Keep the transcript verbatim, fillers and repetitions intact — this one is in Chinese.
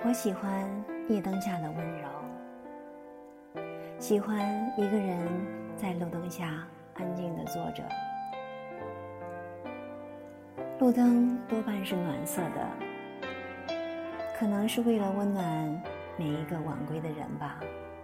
我喜欢夜灯下的温柔，喜欢一个人在路灯下安静地坐着。路灯多半是暖色的，可能是为了温暖每一个晚归的人吧。